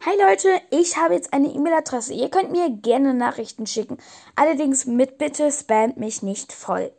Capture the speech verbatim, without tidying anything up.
Hi Leute, ich habe jetzt eine E-Mail-Adresse. Ihr könnt mir gerne Nachrichten schicken. Allerdings mit Bitte spamt mich nicht voll.